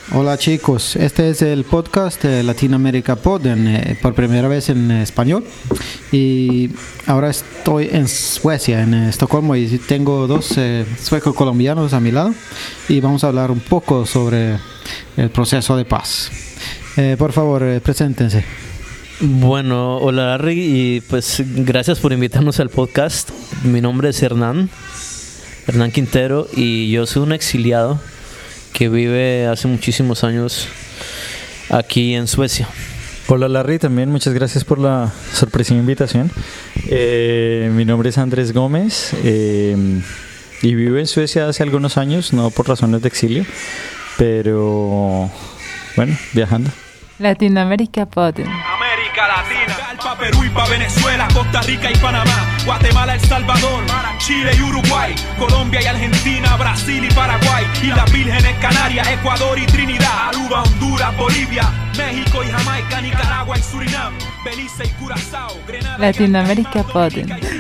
Hola chicos, este es el podcast de Latinoamérica Pod por primera vez en español y ahora estoy en Suecia, en Estocolmo, y tengo dos suecos colombianos a mi lado y vamos a hablar un poco sobre el proceso de paz. Por favor, preséntense. Bueno, hola Larry, y pues gracias por invitarnos al podcast. Mi nombre es Hernán Quintero y yo soy un exiliado que vive hace muchísimos años aquí en Suecia. Hola Larry, también muchas gracias por la sorpresiva invitación. Mi nombre es Andrés Gómez y vivo en Suecia hace algunos años, no por razones de exilio, pero bueno, viajando. Latinoamérica Pod. América Latina, pa' Perú y pa' Venezuela, Costa Rica y Panamá, Guatemala, El Salvador, Chile y Uruguay, Colombia y Argentina, Brasil y Paraguay, Islas Vírgenes, Canarias, Ecuador y Trinidad, Aruba, Honduras, Bolivia, México y Jamaica, Nicaragua y Surinam, Belice y Curazao, Grenada, Latinoamérica Pod.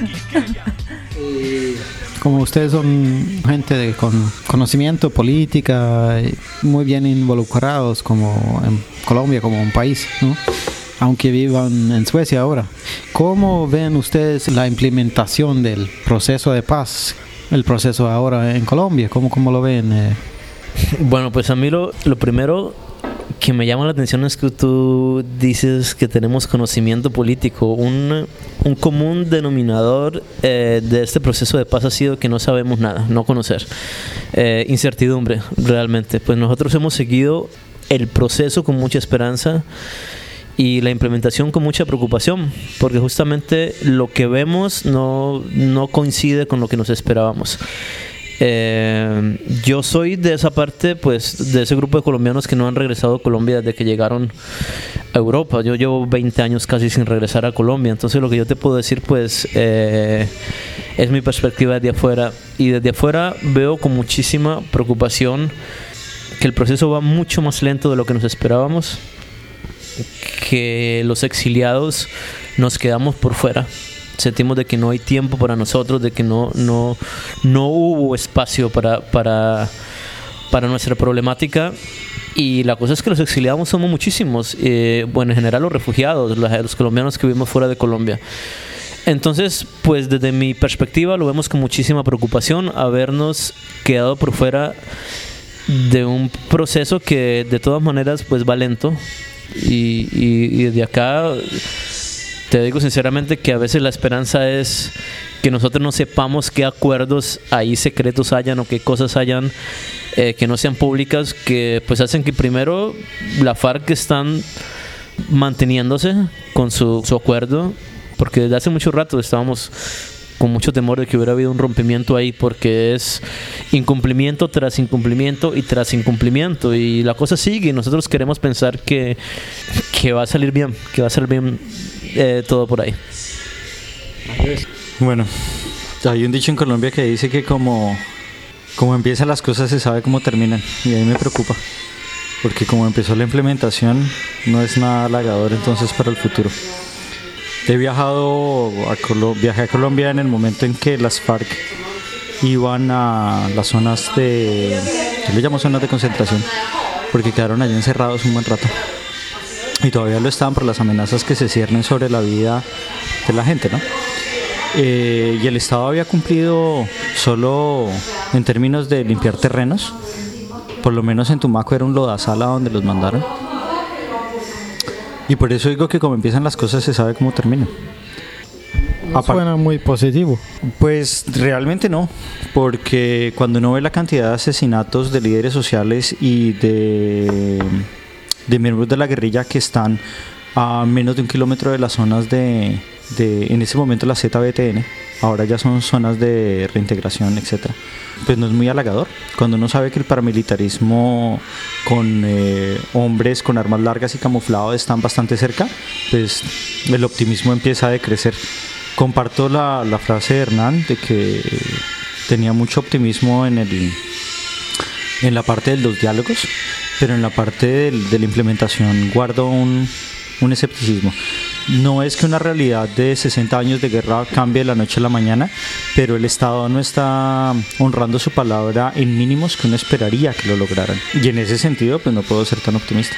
Como ustedes son gente con conocimiento, política, muy bien involucrados como en Colombia, como un país, ¿no? Aunque vivan en Suecia ahora, ¿cómo ven ustedes la implementación del proceso de paz, el proceso ahora en Colombia? ¿Cómo lo ven? Bueno, pues a mí lo primero que me llama la atención es que tú dices que tenemos conocimiento político. Un común denominador de este proceso de paz ha sido que no sabemos nada, no conocer. Incertidumbre, realmente. Pues nosotros hemos seguido el proceso con mucha esperanza y la implementación con mucha preocupación, porque justamente lo que vemos no coincide con lo que nos esperábamos. Yo soy de esa parte, pues de ese grupo de colombianos que no han regresado a Colombia desde que llegaron a Europa. Yo llevo 20 años casi sin regresar a Colombia, entonces lo que yo te puedo decir pues es mi perspectiva desde afuera, y desde afuera veo con muchísima preocupación que el proceso va mucho más lento de lo que nos esperábamos, que los exiliados nos quedamos por fuera. Sentimos de que no hay tiempo para nosotros, de que no hubo espacio para nuestra problemática. Y la cosa es que los exiliados somos muchísimos, bueno, en general los refugiados, los colombianos que vivimos fuera de Colombia. Entonces, pues desde mi perspectiva lo vemos con muchísima preocupación, habernos quedado por fuera de un proceso que de todas maneras pues va lento. Y desde acá te digo sinceramente que a veces la esperanza es que nosotros no sepamos qué acuerdos ahí secretos hayan o qué cosas hayan que no sean públicas, que pues hacen que primero la FARC están manteniéndose con su acuerdo, porque desde hace mucho rato estábamos con mucho temor de que hubiera habido un rompimiento ahí, porque es incumplimiento tras incumplimiento y tras incumplimiento, y la cosa sigue, y nosotros queremos pensar que va a salir bien, todo por ahí. Bueno, hay un dicho en Colombia que dice que como empiezan las cosas se sabe cómo terminan, y a mí me preocupa, porque como empezó la implementación no es nada halagador entonces para el futuro. Viajé a Colombia en el momento en que las FARC iban a las zonas yo le llamo zonas de concentración, porque quedaron allí encerrados un buen rato. Y todavía lo estaban por las amenazas que se ciernen sobre la vida de la gente, ¿no? Y el Estado había cumplido solo en términos de limpiar terrenos. Por lo menos en Tumaco era un lodazal a donde los mandaron. Y por eso digo que como empiezan las cosas se sabe cómo terminan. Suena muy positivo. Pues realmente no, porque cuando uno ve la cantidad de asesinatos de líderes sociales y de miembros de la guerrilla que están a menos de 1 kilómetro de las zonas de en ese momento la ZBTN, ahora ya son zonas de reintegración, etcétera, pues no es muy halagador. Cuando uno sabe que el paramilitarismo con hombres con armas largas y camuflados están bastante cerca, pues el optimismo empieza a decrecer. Comparto la frase de Hernán de que tenía mucho optimismo en la parte de los diálogos, pero en la parte de la implementación guardo un escepticismo. no es que una realidad de 60 años de guerra cambie de la noche a la mañana, pero el Estado no está honrando su palabra en mínimos que uno esperaría que lo lograran. Y en ese sentido, pues no puedo ser tan optimista.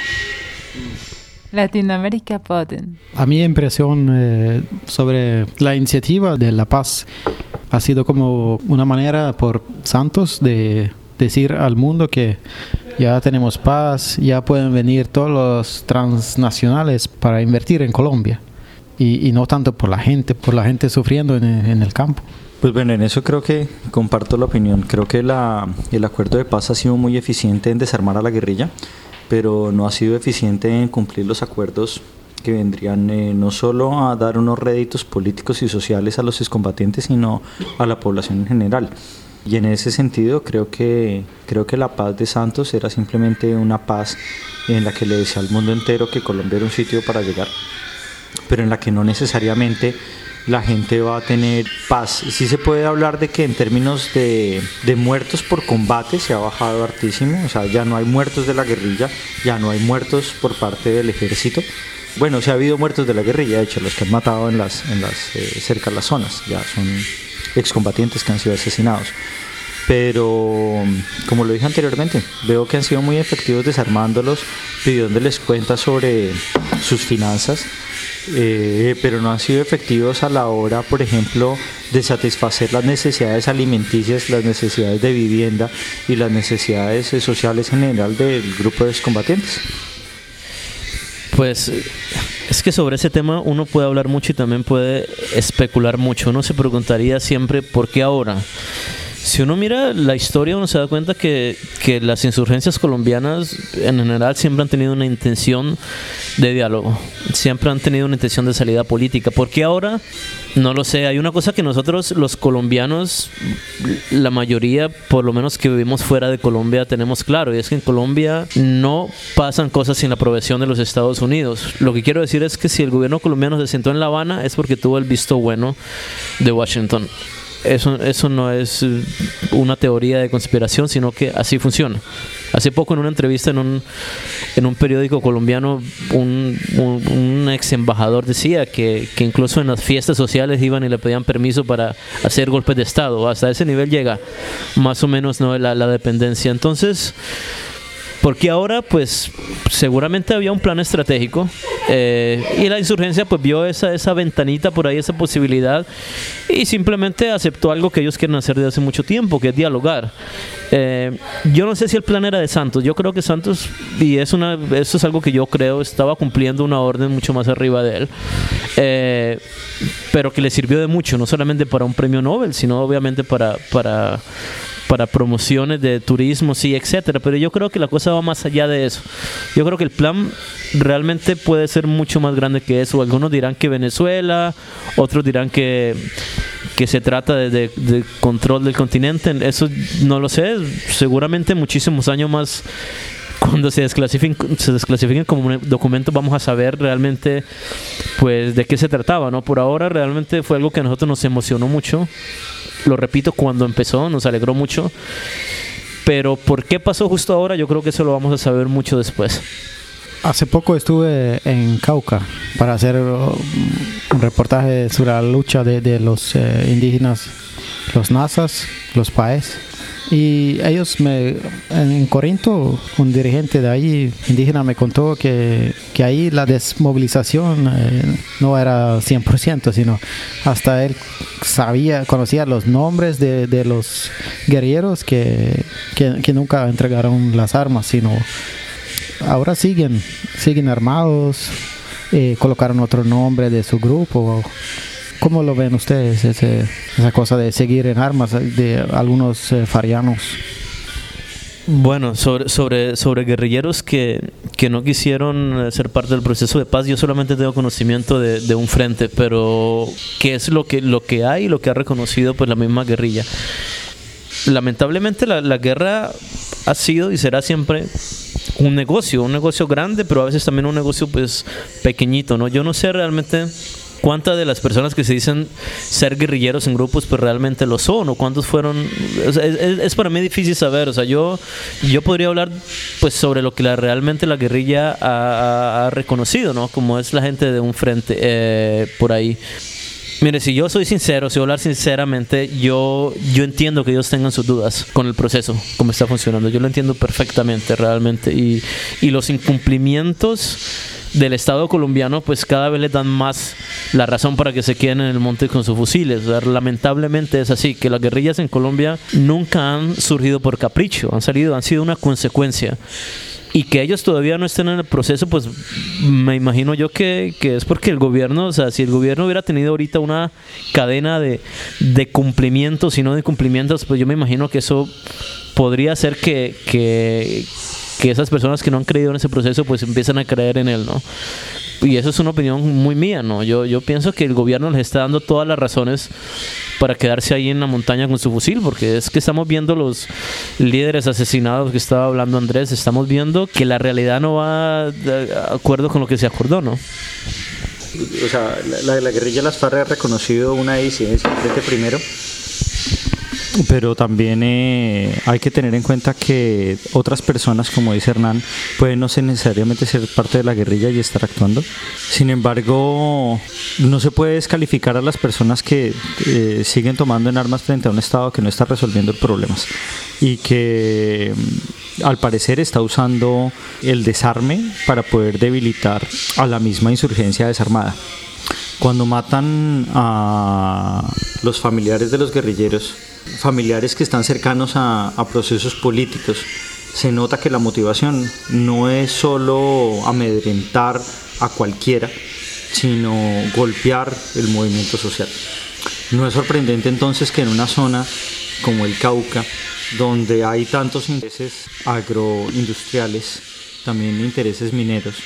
Latinoamerica-podden. A mi impresión sobre la iniciativa de la paz ha sido como una manera por Santos de decir al mundo que ya tenemos paz, ya pueden venir todos los transnacionales para invertir en Colombia y no tanto por la gente sufriendo en el campo. Pues bueno, en eso creo que comparto la opinión. Creo que el acuerdo de paz ha sido muy eficiente en desarmar a la guerrilla, pero no ha sido eficiente en cumplir los acuerdos que vendrían no solo a dar unos réditos políticos y sociales a los excombatientes, sino a la población en general. Y en ese sentido creo que la paz de Santos era simplemente una paz en la que le decía al mundo entero que Colombia era un sitio para llegar, pero en la que no necesariamente la gente va a tener paz. Sí se puede hablar de que en términos de muertos por combate se ha bajado hartísimo, o sea, ya no hay muertos de la guerrilla, ya no hay muertos por parte del ejército. Bueno, sí ha habido muertos de la guerrilla, de hecho, los que han matado cerca de las zonas, ya son excombatientes que han sido asesinados. Pero, como lo dije anteriormente, veo que han sido muy efectivos desarmándolos, pidiéndoles cuentas sobre sus finanzas, pero no han sido efectivos a la hora, por ejemplo, de satisfacer las necesidades alimenticias, las necesidades de vivienda y las necesidades sociales en general del grupo de excombatientes. Pues es que sobre ese tema uno puede hablar mucho y también puede especular mucho. Uno se preguntaría siempre ¿por qué ahora? Si uno mira la historia, uno se da cuenta que las insurgencias colombianas en general siempre han tenido una intención de diálogo, siempre han tenido una intención de salida política. ¿Por qué ahora? No lo sé. Hay una cosa que nosotros los colombianos, la mayoría, por lo menos que vivimos fuera de Colombia, tenemos claro, y es que en Colombia no pasan cosas sin la aprobación de los Estados Unidos. Lo que quiero decir es que si el gobierno colombiano se sentó en La Habana es porque tuvo el visto bueno de Washington. Eso no es una teoría de conspiración, sino que así funciona. Hace poco en una entrevista en un periódico colombiano, un ex embajador decía que incluso en las fiestas sociales iban y le pedían permiso para hacer golpes de Estado. Hasta ese nivel llega más o menos, ¿no?, la dependencia. Entonces, porque ahora pues seguramente había un plan estratégico y la insurgencia pues vio esa ventanita por ahí, esa posibilidad, y simplemente aceptó algo que ellos quieren hacer desde hace mucho tiempo, que es dialogar. Yo no sé si el plan era de Santos. Yo creo que Santos, y eso es algo que yo creo, estaba cumpliendo una orden mucho más arriba de él, pero que le sirvió de mucho, no solamente para un premio Nobel, sino obviamente para promociones de turismo, sí, etcétera. Pero yo creo que la cosa va más allá de eso. Yo creo que el plan realmente puede ser mucho más grande que eso. Algunos dirán que Venezuela, otros dirán que se trata de control del continente. Eso no lo sé. Seguramente muchísimos años más, cuando se desclasifiquen como documento, vamos a saber realmente pues de qué se trataba, ¿no? Por ahora realmente fue algo que a nosotros nos emocionó mucho. Lo repito, cuando empezó nos alegró mucho, pero ¿por qué pasó justo ahora? Yo creo que eso lo vamos a saber mucho después. Hace poco estuve en Cauca para hacer un reportaje sobre la lucha de los indígenas, los Nazas, los Paes. Y ellos en Corinto, un dirigente de ahí, indígena, me contó que ahí la desmovilización no era 100%, sino hasta él conocía los nombres de los guerrilleros que nunca entregaron las armas, sino ahora siguen armados, colocaron otro nombre de su grupo. ¿Cómo lo ven ustedes, esa cosa de seguir en armas de algunos farianos? Bueno, sobre guerrilleros que no quisieron ser parte del proceso de paz, yo solamente tengo conocimiento de un frente, pero ¿qué es lo que hay y lo que ha reconocido pues la misma guerrilla? Lamentablemente la guerra ha sido y será siempre un negocio grande, pero a veces también un negocio pues pequeñito, ¿no? Yo no sé realmente ¿cuántas de las personas que se dicen ser guerrilleros en grupos pues realmente lo son? ¿O cuántos fueron? O sea, es para mí difícil saber. O sea, yo podría hablar pues sobre lo que realmente la guerrilla ha reconocido, ¿no? Como es la gente de un frente por ahí. Mire, si yo soy sincero, si voy a hablar sinceramente, yo entiendo que ellos tengan sus dudas con el proceso, cómo está funcionando. Yo lo entiendo perfectamente, realmente. Y los incumplimientos del Estado colombiano, pues cada vez les dan más la razón para que se queden en el monte con sus fusiles. O sea, lamentablemente es así, que las guerrillas en Colombia nunca han surgido por capricho, han sido una consecuencia. Y que ellos todavía no estén en el proceso, pues me imagino yo que es porque el gobierno, o sea, si el gobierno hubiera tenido ahorita una cadena de cumplimientos y no de incumplimientos, pues yo me imagino que eso podría hacer que esas personas que no han creído en ese proceso, pues empiezan a creer en él, ¿no? Y eso es una opinión muy mía, ¿no? Yo pienso que el gobierno les está dando todas las razones para quedarse ahí en la montaña con su fusil, porque es que estamos viendo los líderes asesinados que estaba hablando Andrés, estamos viendo que la realidad no va de acuerdo con lo que se acordó, ¿no? O sea, la guerrilla de las FARC ha reconocido una disidencia desde primero, pero también hay que tener en cuenta que otras personas, como dice Hernán, pueden no necesariamente ser parte de la guerrilla y estar actuando. Sin embargo, no se puede descalificar a las personas que siguen tomando en armas frente a un Estado que no está resolviendo problemas y que al parecer está usando el desarme para poder debilitar a la misma insurgencia desarmada. Cuando matan a los familiares de los guerrilleros, familiares que están cercanos a procesos políticos, se nota que la motivación no es solo amedrentar a cualquiera, sino golpear el movimiento social. No es sorprendente entonces que en una zona como el Cauca, donde hay tantos intereses agroindustriales, también intereses mineros,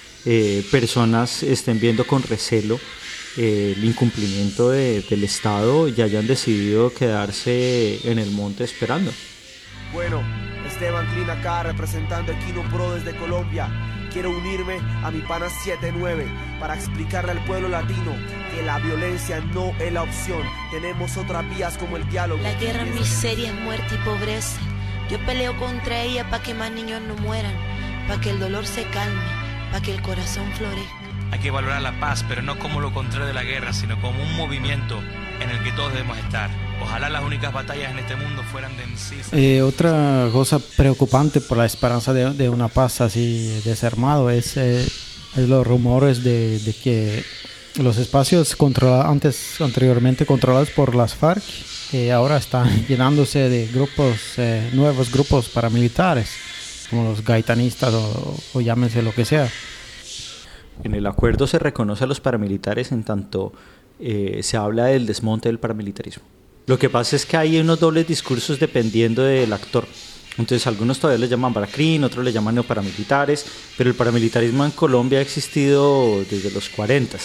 personas estén viendo con recelo el incumplimiento del Estado y hayan decidido quedarse en el monte esperando. Bueno, Esteban Clean acá representando Equino Pro desde Colombia. Quiero unirme a mi pana 79 para explicarle al pueblo latino que la violencia no es la opción. Tenemos otras vías como el diálogo. La guerra, miseria, muerte y pobreza. Yo peleo contra ella para que más niños no mueran, para que el dolor se calme, para que el corazón florezca. Hay que valorar la paz, pero no como lo contrario de la guerra, sino como un movimiento en el que todos debemos estar. Ojalá las únicas batallas en este mundo fueran de en sí. Otra cosa preocupante por la esperanza de una paz así desarmado es los rumores de que los espacios anteriormente controlados por las FARC ahora están llenándose de grupos, nuevos grupos paramilitares, como los gaitanistas o llámense lo que sea. En el acuerdo se reconoce a los paramilitares en tanto se habla del desmonte del paramilitarismo. Lo que pasa es que hay unos dobles discursos dependiendo del actor. Entonces algunos todavía les llaman baracrín, otros les llaman neoparamilitares, pero el paramilitarismo en Colombia ha existido desde los 40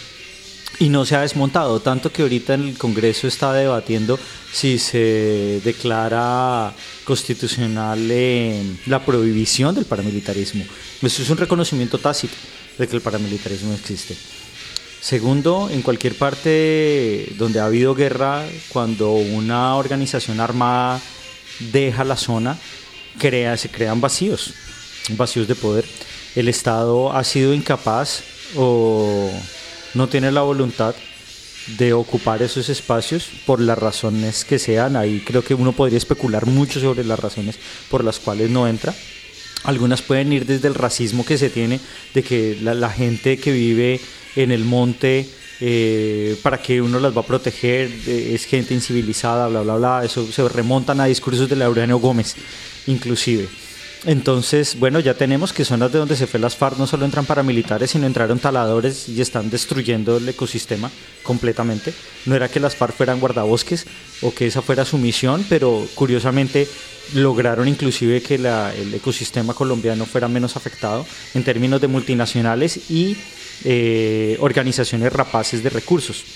y no se ha desmontado, tanto que ahorita en el Congreso está debatiendo si se declara constitucional la prohibición del paramilitarismo. Eso es un reconocimiento tácito de que el paramilitarismo existe. Segundo, en cualquier parte donde ha habido guerra, cuando una organización armada deja la zona, se crean vacíos de poder. El Estado ha sido incapaz o no tiene la voluntad de ocupar esos espacios por las razones que sean. Ahí creo que uno podría especular mucho sobre las razones por las cuales no entra. Algunas pueden ir desde el racismo que se tiene, de que la gente que vive en el monte, para que uno las va a proteger, es gente incivilizada, bla, bla, bla. Eso se remontan a discursos de Laureano Gómez, inclusive. Entonces, bueno, ya tenemos que zonas de donde se fue las FARC no solo entran paramilitares, sino entraron taladores y están destruyendo el ecosistema completamente. No era que las FARC fueran guardabosques o que esa fuera su misión, pero curiosamente lograron inclusive que el ecosistema colombiano fuera menos afectado en términos de multinacionales y organizaciones rapaces de recursos.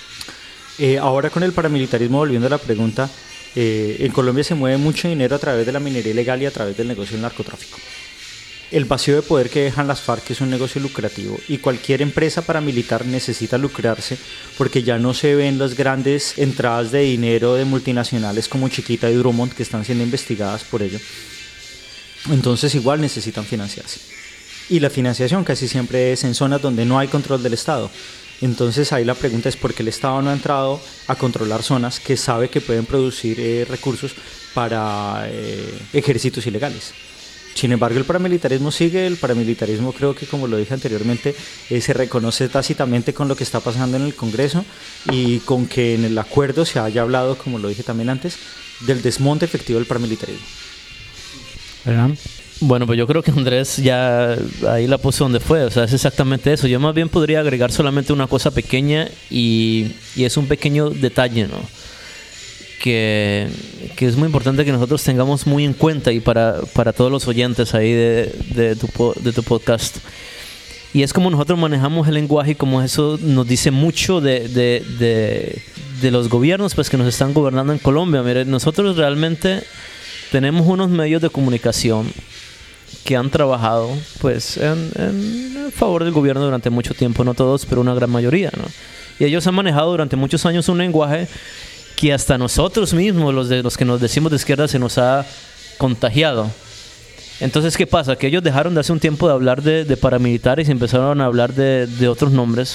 Ahora con el paramilitarismo, volviendo a la pregunta, en Colombia se mueve mucho dinero a través de la minería ilegal y a través del negocio del narcotráfico. el vacío de poder que dejan las FARC es un negocio lucrativo y cualquier empresa paramilitar necesita lucrarse porque ya no se ven las grandes entradas de dinero de multinacionales como Chiquita y Drummond que están siendo investigadas por ello. Entonces igual necesitan financiarse. Y la financiación casi siempre es en zonas donde no hay control del Estado. Entonces ahí la pregunta es por qué el Estado no ha entrado a controlar zonas que sabe que pueden producir recursos para ejércitos ilegales. Sin embargo, el paramilitarismo sigue. El paramilitarismo, creo que como lo dije anteriormente, se reconoce tácitamente con lo que está pasando en el Congreso y con que en el acuerdo se haya hablado, como lo dije también antes, del desmonte efectivo del paramilitarismo. ¿Verdad? Bueno, pues yo creo que Andrés ya ahí la puso donde fue, o sea, es exactamente eso. Yo más bien podría agregar solamente una cosa pequeña y es un pequeño detalle, ¿no? Que es muy importante que nosotros tengamos muy en cuenta y para todos los oyentes ahí de tu podcast. Y es como nosotros manejamos el lenguaje y como eso nos dice mucho de los gobiernos pues que nos están gobernando en Colombia. Mire, nosotros realmente tenemos unos medios de comunicación que han trabajado pues en favor del gobierno durante mucho tiempo, no todos, pero una gran mayoría, ¿no? Y ellos han manejado durante muchos años un lenguaje que hasta nosotros mismos, los que nos decimos de izquierda, se nos ha contagiado. Entonces, ¿qué pasa? Que ellos dejaron de hace un tiempo de hablar de paramilitares y empezaron a hablar de otros nombres.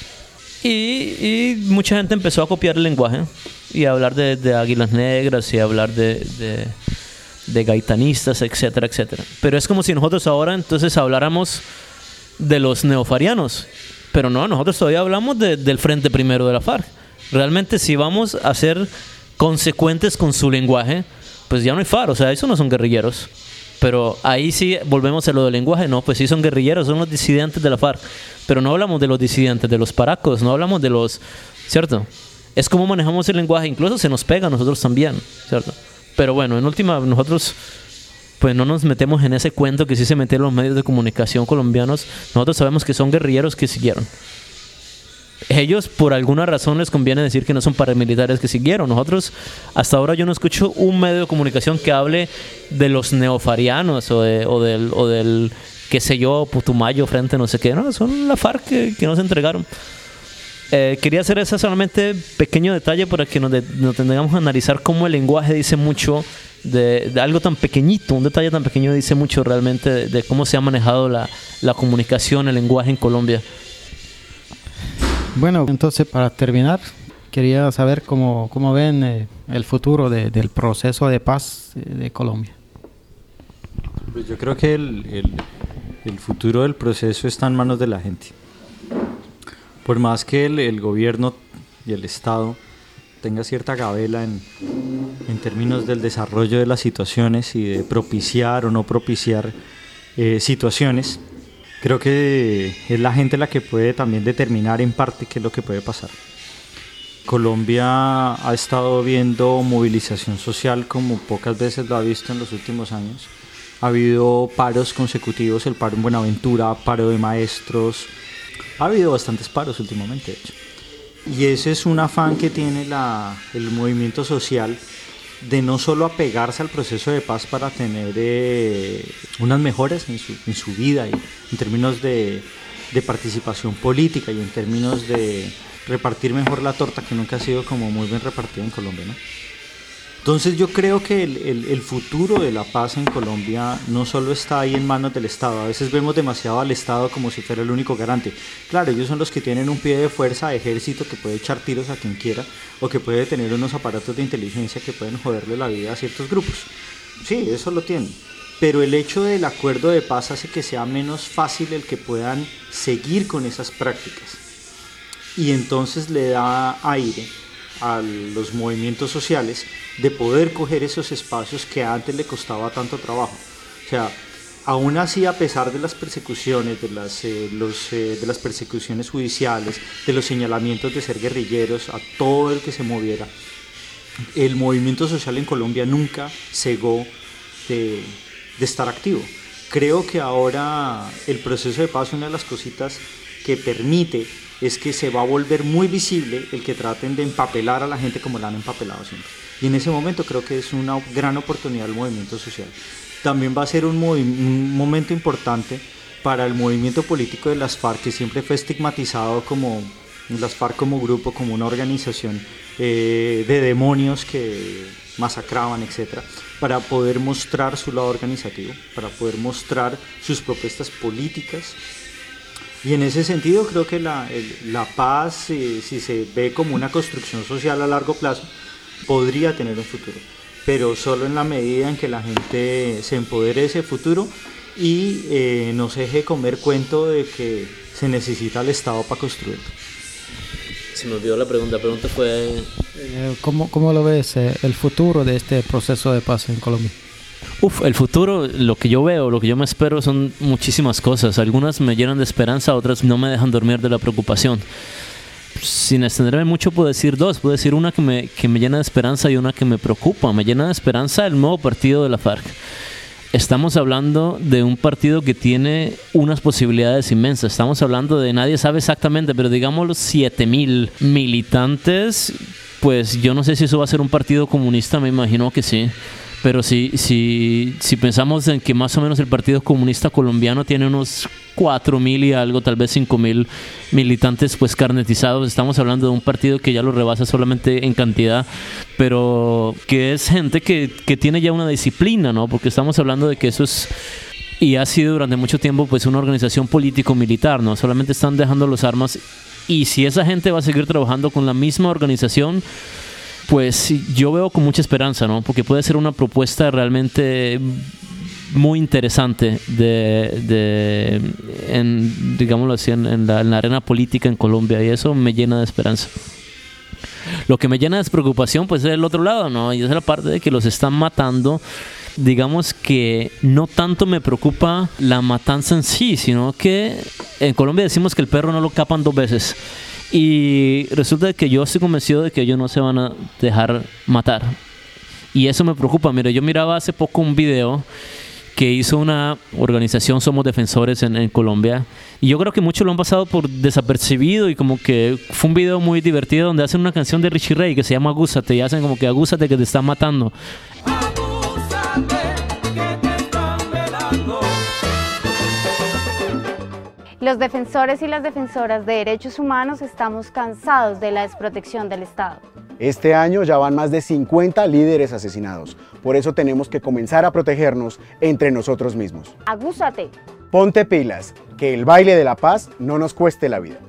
Y mucha gente empezó a copiar el lenguaje y a hablar de águilas negras y a hablar de gaitanistas, etcétera, etcétera. Pero es como si nosotros ahora entonces habláramos de los neofarianos. Pero no, nosotros todavía hablamos del Frente Primero de la FARC. Realmente si vamos a ser consecuentes con su lenguaje, pues ya no hay FARC, o sea, esos no son guerrilleros. Pero ahí sí volvemos a lo del lenguaje, no, pues sí son guerrilleros, son los disidentes de la FARC. Pero no hablamos de los disidentes, de los paracos, no hablamos de los... ¿Cierto? Es como manejamos el lenguaje, incluso se nos pega a nosotros también, ¿cierto? Pero bueno, en última, nosotros pues no nos metemos en ese cuento que sí se metieron los medios de comunicación colombianos. Nosotros sabemos que son guerrilleros que siguieron. Ellos, por alguna razón, les conviene decir que no son paramilitares que siguieron. Nosotros, hasta ahora yo no escucho un medio de comunicación que hable de los neofarianos o del qué sé yo, Putumayo frente no sé qué. No, son la FARC que nos entregaron. Quería hacer ese solamente pequeño detalle para que nos tengamos que analizar cómo el lenguaje dice mucho de algo tan pequeñito, un detalle tan pequeño dice mucho realmente de cómo se ha manejado la comunicación, el lenguaje en Colombia. Bueno, entonces para terminar, quería saber cómo ven el futuro del proceso de paz de Colombia. Pues yo creo que el futuro del proceso está en manos de la gente. Por más que el gobierno y el Estado tenga cierta gabela en términos del desarrollo de las situaciones y de propiciar o no propiciar situaciones, creo que es la gente la que puede también determinar en parte qué es lo que puede pasar. Colombia ha estado viendo movilización social como pocas veces lo ha visto en los últimos años. Ha habido paros consecutivos, el paro en Buenaventura, paro de maestros. Ha habido bastantes paros últimamente, de hecho. Y ese es un afán que tiene el movimiento social de no solo apegarse al proceso de paz para tener unas mejoras en su vida y en términos de participación política y en términos de repartir mejor la torta, que nunca ha sido como muy bien repartida en Colombia, ¿no? Entonces yo creo que el futuro de la paz en Colombia no solo está ahí en manos del Estado. A veces vemos demasiado al Estado como si fuera el único garante. Claro, ellos son los que tienen un pie de fuerza, ejército que puede echar tiros a quien quiera o que puede tener unos aparatos de inteligencia que pueden joderle la vida a ciertos grupos. Sí, eso lo tienen. Pero el hecho del acuerdo de paz hace que sea menos fácil el que puedan seguir con esas prácticas. Y entonces le da aire a los movimientos sociales de poder coger esos espacios que antes le costaba tanto trabajo. O sea, aún así, a pesar de las persecuciones, de las persecuciones judiciales, de los señalamientos de ser guerrilleros, a todo el que se moviera, el movimiento social en Colombia nunca cegó de estar activo. Creo que ahora el proceso de paz, una de las cositas que permite es que se va a volver muy visible el que traten de empapelar a la gente como la han empapelado siempre. Y en ese momento creo que es una gran oportunidad del movimiento social. también va a ser un momento importante para el movimiento político de las FARC, que siempre fue estigmatizado como las FARC como grupo, como una organización de demonios que masacraban, etc., para poder mostrar su lado organizativo, para poder mostrar sus propuestas políticas. Y en ese sentido creo que la paz, si se ve como una construcción social a largo plazo, podría tener un futuro, pero solo en la medida en que la gente se empodere de ese futuro y no se deje comer cuento de que se necesita el Estado para construirlo. Se me olvidó la pregunta fue... ¿Cómo lo ves el futuro de este proceso de paz en Colombia? El futuro, lo que yo veo, lo que yo me espero son muchísimas cosas. Algunas me llenan de esperanza, otras no me dejan dormir de la preocupación. Sin extenderme mucho puedo decir dos. Puedo decir una que me llena de esperanza y una que me preocupa. Me llena de esperanza el nuevo partido de la FARC. Estamos hablando de un partido que tiene unas posibilidades inmensas. Estamos hablando de, nadie sabe exactamente, pero digamos los 7,000 militantes. Pues yo no sé si eso va a ser un partido comunista, me imagino que sí. Pero si pensamos en que más o menos el Partido Comunista Colombiano tiene unos 4,000 y algo, tal vez 5,000 militantes pues carnetizados, estamos hablando de un partido que ya lo rebasa solamente en cantidad, pero que es gente que tiene ya una disciplina, ¿no? Porque estamos hablando de que eso es y ha sido durante mucho tiempo pues una organización político-militar, ¿no? Solamente están dejando las armas, y si esa gente va a seguir trabajando con la misma organización, pues yo veo con mucha esperanza, ¿no? Porque puede ser una propuesta realmente muy interesante digámoslo así, en la arena política en Colombia, y eso me llena de esperanza. Lo que me llena de preocupación pues es el otro lado, ¿no? Y es la parte de que los están matando. Digamos que no tanto me preocupa la matanza en sí, sino que en Colombia decimos que el perro no lo capan 2 veces. Y resulta que yo estoy convencido de que ellos no se van a dejar matar. Y eso me preocupa. Mira, yo miraba hace poco un video que hizo una organización, Somos Defensores, en Colombia. Y yo creo que muchos lo han pasado por desapercibido, y como que fue un video muy divertido donde hacen una canción de Richie Ray que se llama Agúzate, y hacen como que agúzate que te están matando. Los defensores y las defensoras de derechos humanos estamos cansados de la desprotección del Estado. Este año ya van más de 50 líderes asesinados. Por eso tenemos que comenzar a protegernos entre nosotros mismos. Agúzate. Ponte pilas, que el baile de la paz no nos cueste la vida.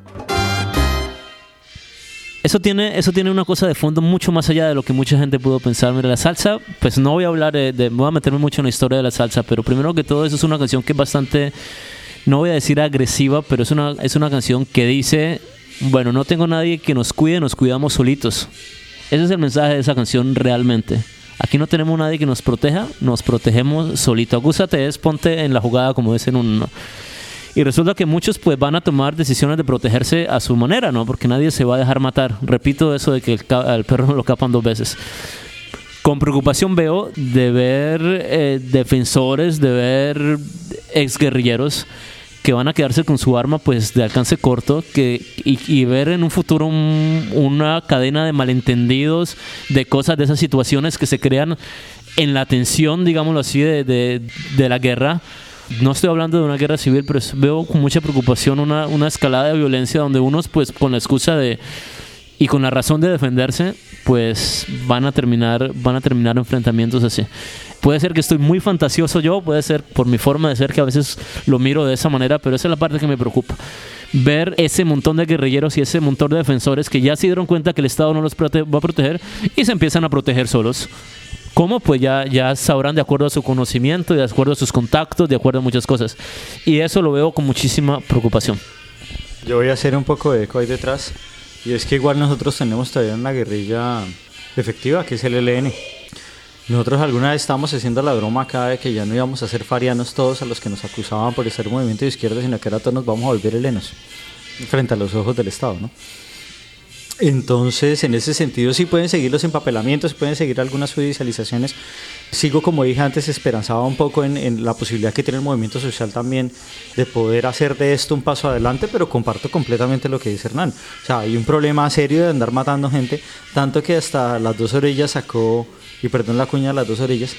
Eso tiene una cosa de fondo mucho más allá de lo que mucha gente pudo pensar. Mira, la salsa, pues no voy a hablar voy a meterme mucho en la historia de la salsa, pero primero que todo, eso es una canción que es bastante, no voy a decir agresiva, pero es una canción que dice, bueno, no tengo nadie que nos cuide, nos cuidamos solitos. Ese es el mensaje de esa canción realmente. Aquí no tenemos nadie que nos proteja, nos protegemos solito. Agúzate es ponte en la jugada, como dicen uno. Y resulta que muchos pues van a tomar decisiones de protegerse a su manera, ¿no? Porque nadie se va a dejar matar. Repito eso de que el perro no lo capan 2 veces. Con preocupación veo de ver defensores, de ver exguerrilleros que van a quedarse con su arma pues de alcance corto, y ver en un futuro una cadena de malentendidos, de cosas, de esas situaciones que se crean en la tensión, digámoslo así, de la guerra. No estoy hablando de una guerra civil, pero veo con mucha preocupación una escalada de violencia donde unos pues con la excusa y con la razón de defenderse pues van a terminar enfrentamientos así. Puede ser que estoy muy fantasioso yo, puede ser por mi forma de ser que a veces lo miro de esa manera, pero esa es la parte que me preocupa. Ver ese montón de guerrilleros y ese montón de defensores que ya se dieron cuenta que el Estado no los va a proteger y se empiezan a proteger solos. ¿Cómo? Pues ya sabrán de acuerdo a su conocimiento, de acuerdo a sus contactos, de acuerdo a muchas cosas. Y eso lo veo con muchísima preocupación. Yo voy a hacer un poco de eco ahí detrás. Y es que igual nosotros tenemos todavía una guerrilla efectiva, que es el ELN. Nosotros alguna vez estábamos haciendo la broma acá de que ya no íbamos a ser farianos todos a los que nos acusaban por ser movimiento de izquierda, sino que ahora todos nos vamos a volver helenos frente a los ojos del Estado, ¿no? Entonces, en ese sentido sí pueden seguir los empapelamientos, pueden seguir algunas judicializaciones, Sigo, como dije antes, esperanzado un poco en la posibilidad que tiene el movimiento social también de poder hacer de esto un paso adelante, pero comparto completamente lo que dice Hernán. O sea, hay un problema serio de andar matando gente, tanto que hasta Las Dos Orillas sacó, y perdón la cuña de Las Dos Orillas,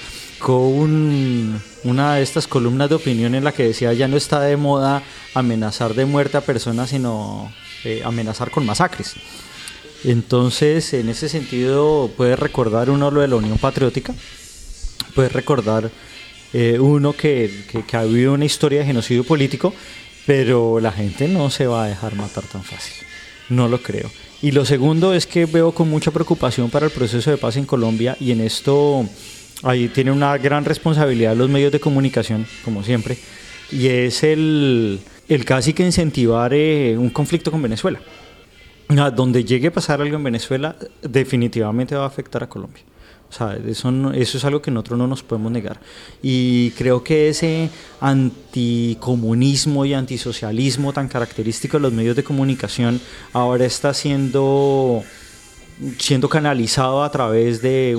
con una de estas columnas de opinión en la que decía ya no está de moda amenazar de muerte a personas, sino amenazar con masacres. Entonces, en ese sentido, puede recordar uno lo de la Unión Patriótica, puede recordar uno que ha habido una historia de genocidio político, pero la gente no se va a dejar matar tan fácil, no lo creo. Y lo segundo es que veo con mucha preocupación para el proceso de paz en Colombia, y en esto ahí tiene una gran responsabilidad los medios de comunicación, como siempre, y es el casi que incentivar un conflicto con Venezuela. Donde llegue a pasar algo en Venezuela, definitivamente va a afectar a Colombia. O sea, eso es algo que nosotros no nos podemos negar. Y creo que ese anticomunismo y antisocialismo tan característico de los medios de comunicación ahora está siendo canalizado a través de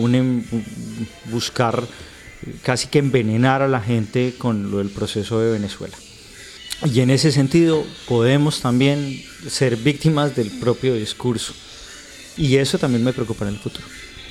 buscar casi que envenenar a la gente con lo del proceso de Venezuela. Y en ese sentido podemos también ser víctimas del propio discurso. Y eso también me preocupa en el futuro.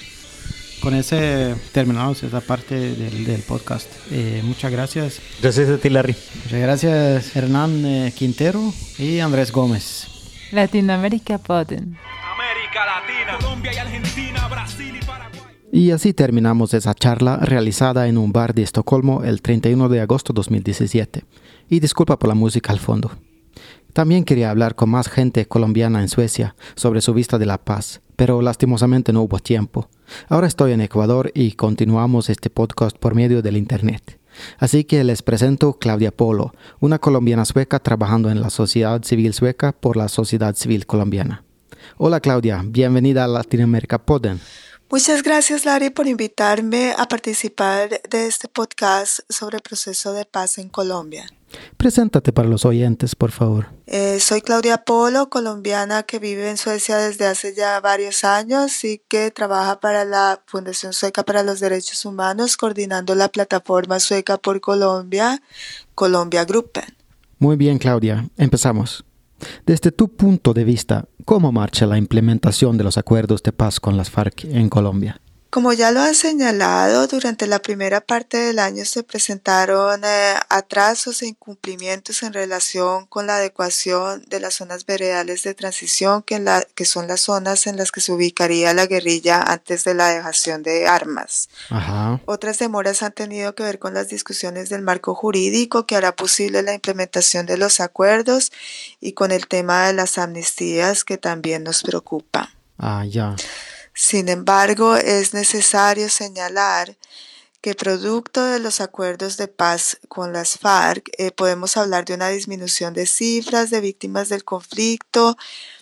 Con ese terminamos esa parte del podcast. Muchas gracias. Gracias a ti, Larry. Muchas gracias, Hernán Quintero y Andrés Gómez. Latinoamérica Podden. América Latina, Colombia y Argentina, Brasil y Paraguay. Y así terminamos esa charla realizada en un bar de Estocolmo el 31 de agosto de 2017. Y disculpa por la música al fondo. También quería hablar con más gente colombiana en Suecia sobre su vista de la paz, pero lastimosamente no hubo tiempo. Ahora estoy en Ecuador y continuamos este podcast por medio del internet. Así que les presento Claudia Polo, una colombiana sueca trabajando en la sociedad civil sueca por la sociedad civil colombiana. Hola Claudia, bienvenida a Latinoamérica Podden. Muchas gracias, Larry, por invitarme a participar de este podcast sobre el proceso de paz en Colombia. Preséntate para los oyentes, por favor. Soy Claudia Polo, colombiana que vive en Suecia desde hace ya varios años y que trabaja para la Fundación Sueca para los Derechos Humanos, coordinando la plataforma Sueca por Colombia, Colombia Gruppen. Muy bien, Claudia. Empezamos. Desde tu punto de vista, ¿cómo marcha la implementación de los acuerdos de paz con las FARC en Colombia? Como ya lo han señalado, durante la primera parte del año se presentaron atrasos e incumplimientos en relación con la adecuación de las zonas veredales de transición, que son las zonas en las que se ubicaría la guerrilla antes de la dejación de armas. Ajá. Otras demoras han tenido que ver con las discusiones del marco jurídico que hará posible la implementación de los acuerdos y con el tema de las amnistías, que también nos preocupa. Ya. Sin embargo, es necesario señalar que producto de los acuerdos de paz con las FARC podemos hablar de una disminución de cifras de víctimas del conflicto.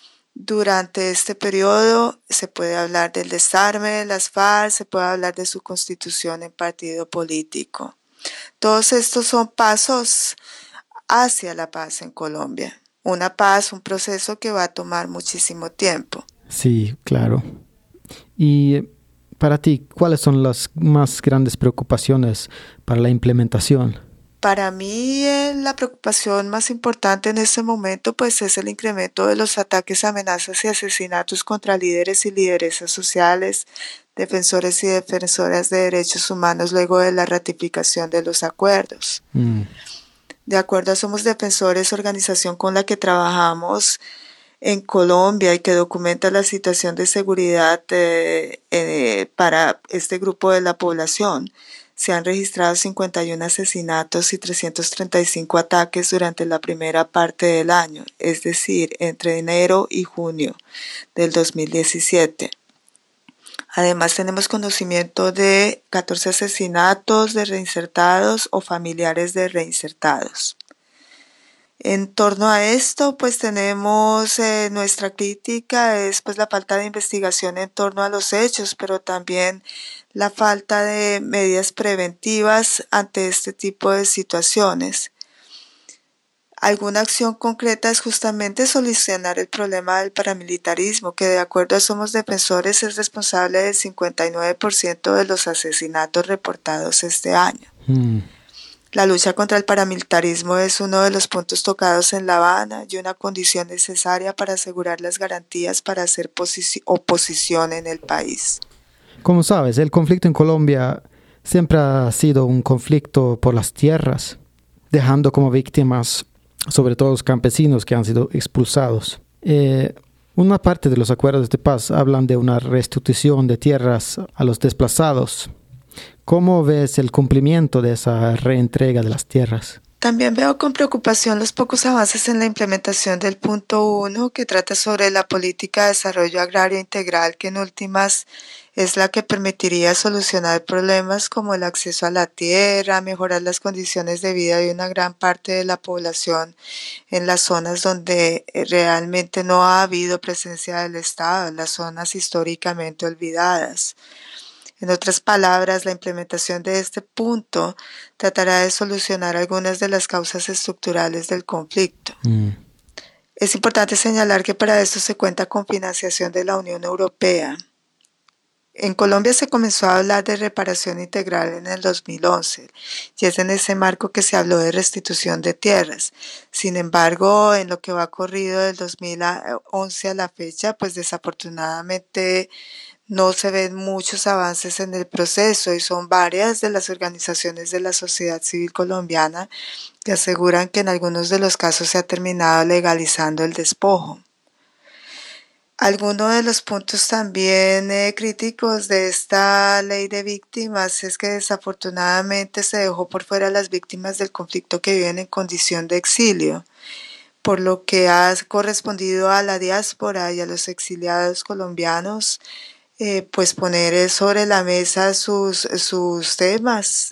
Durante este periodo se puede hablar del desarme de las FARC, se puede hablar de su constitución en partido político. Todos estos son pasos hacia la paz en Colombia. Una paz, un proceso que va a tomar muchísimo tiempo. Sí, claro. Y para ti, ¿cuáles son las más grandes preocupaciones para la implementación? Para mí, la preocupación más importante en este momento pues, es el incremento de los ataques, amenazas y asesinatos contra líderes y lideresas sociales, defensores y defensoras de derechos humanos luego de la ratificación de los acuerdos. De acuerdo a Somos Defensores, organización con la que trabajamos en Colombia y que documenta la situación de seguridad para este grupo de la población, se han registrado 51 asesinatos y 335 ataques durante la primera parte del año, es decir, entre enero y junio del 2017. Además, tenemos conocimiento de 14 asesinatos de reinsertados o familiares de reinsertados. En torno a esto, pues tenemos nuestra crítica, es pues la falta de investigación en torno a los hechos, pero también la falta de medidas preventivas ante este tipo de situaciones. Alguna acción concreta es justamente solucionar el problema del paramilitarismo, que de acuerdo a Somos Defensores es responsable del 59% de los asesinatos reportados este año. La lucha contra el paramilitarismo es uno de los puntos tocados en La Habana y una condición necesaria para asegurar las garantías para hacer oposición en el país. Como sabes, el conflicto en Colombia siempre ha sido un conflicto por las tierras, dejando como víctimas sobre todo los campesinos que han sido expulsados. Una parte de los acuerdos de paz hablan de una restitución de tierras a los desplazados. ¿Cómo ves el cumplimiento de esa reentrega de las tierras? También veo con preocupación los pocos avances en la implementación del punto 1, que trata sobre la política de desarrollo agrario integral, que en últimas es la que permitiría solucionar problemas como el acceso a la tierra, mejorar las condiciones de vida de una gran parte de la población en las zonas donde realmente no ha habido presencia del Estado, en las zonas históricamente olvidadas. En otras palabras, la implementación de este punto tratará de solucionar algunas de las causas estructurales del conflicto. Es importante señalar que para esto se cuenta con financiación de la Unión Europea. En Colombia se comenzó a hablar de reparación integral en el 2011 y es en ese marco que se habló de restitución de tierras. Sin embargo, en lo que va corrido del 2011 a la fecha, pues desafortunadamente no se ven muchos avances en el proceso y son varias de las organizaciones de la sociedad civil colombiana que aseguran que en algunos de los casos se ha terminado legalizando el despojo. Alguno de los puntos también críticos de esta ley de víctimas es que desafortunadamente se dejó por fuera a las víctimas del conflicto que viven en condición de exilio, por lo que ha correspondido a la diáspora y a los exiliados colombianos pues poner sobre la mesa sus temas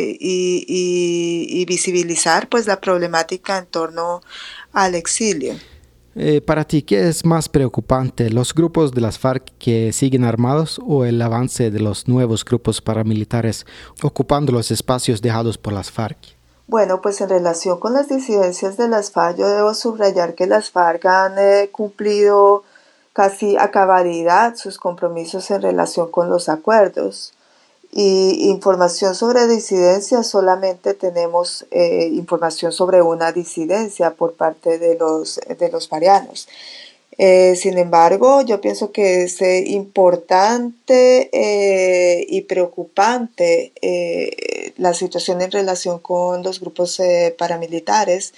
y visibilizar pues la problemática en torno al exilio. Para ti, ¿qué es más preocupante? ¿Los grupos de las FARC que siguen armados o el avance de los nuevos grupos paramilitares ocupando los espacios dejados por las FARC? Bueno, pues en relación con las disidencias de las FARC, yo debo subrayar que las FARC han cumplido casi a cabalidad sus compromisos en relación con los acuerdos. Y información sobre disidencias, solamente tenemos información sobre una disidencia por parte de los farianos. Sin embargo, yo pienso que es importante y preocupante la situación en relación con los grupos paramilitares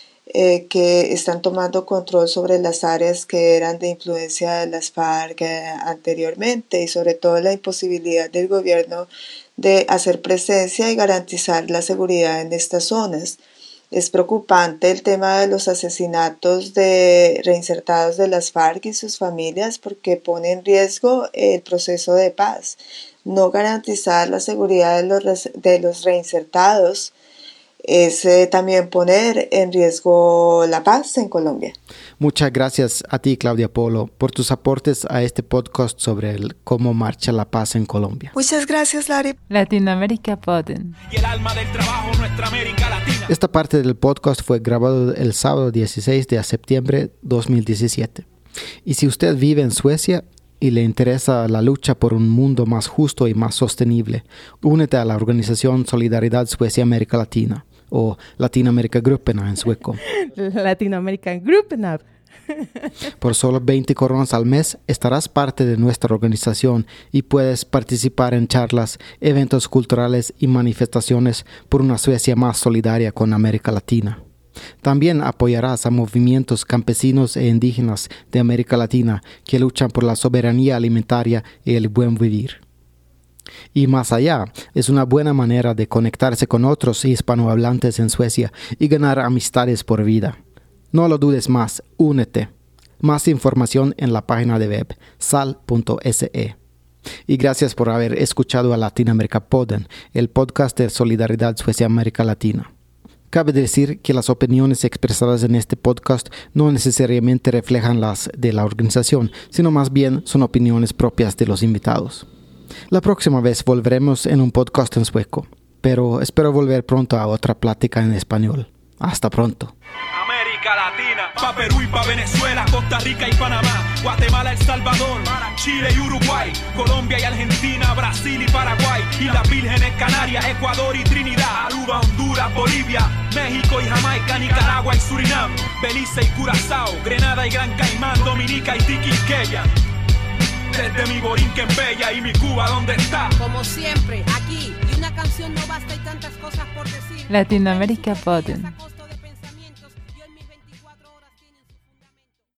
que están tomando control sobre las áreas que eran de influencia de las FARC anteriormente y sobre todo la imposibilidad del gobierno de hacer presencia y garantizar la seguridad en estas zonas. Es preocupante el tema de los asesinatos de reinsertados de las FARC y sus familias porque pone en riesgo el proceso de paz. No garantizar la seguridad de los reinsertados es también poner en riesgo la paz en Colombia. Muchas gracias a ti, Claudia Polo, por tus aportes a este podcast sobre cómo marcha la paz en Colombia. Muchas gracias, Larry. Latinoamérica Podden. Y el alma del trabajo, nuestra América Latina. Esta parte del podcast fue grabado el sábado 16 de septiembre 2017. Y si usted vive en Suecia y le interesa la lucha por un mundo más justo y más sostenible, únete a la organización Solidaridad Suecia-América Latina, o Latinamerikagruppen en sueco. Latinamerikagruppen. Por solo 20 coronas al mes estarás parte de nuestra organización y puedes participar en charlas, eventos culturales y manifestaciones por una Suecia más solidaria con América Latina. También apoyarás a movimientos campesinos e indígenas de América Latina que luchan por la soberanía alimentaria y el buen vivir. Y más allá, es una buena manera de conectarse con otros hispanohablantes en Suecia y ganar amistades por vida. No lo dudes más, únete. Más información en la página de web sal.se. Y gracias por haber escuchado a Latinoamérica Podden, el podcast de Solidaridad Suecia-América Latina. Cabe decir que las opiniones expresadas en este podcast no necesariamente reflejan las de la organización, sino más bien son opiniones propias de los invitados. La próxima vez volveremos en un podcast en sueco, pero espero volver pronto a otra plática en español. Hasta pronto. América Latina, pa' Perú y pa' Venezuela, Costa Rica y Panamá, Guatemala, El Salvador, Chile y Uruguay, Colombia y Argentina, Brasil y Paraguay, Islas Vírgenes, Canarias, Ecuador y Trinidad, Aruba, Honduras, Bolivia, México y Jamaica, Nicaragua y Surinam, Belice y Curazao, Grenada y Gran Caimán, Dominica y Tiquisqueya. Desde mi Borinquen bella y mi Cuba, ¿dónde está? Como siempre, aquí, y una canción no basta, hay tantas cosas por decir. Latinoamérica Podden.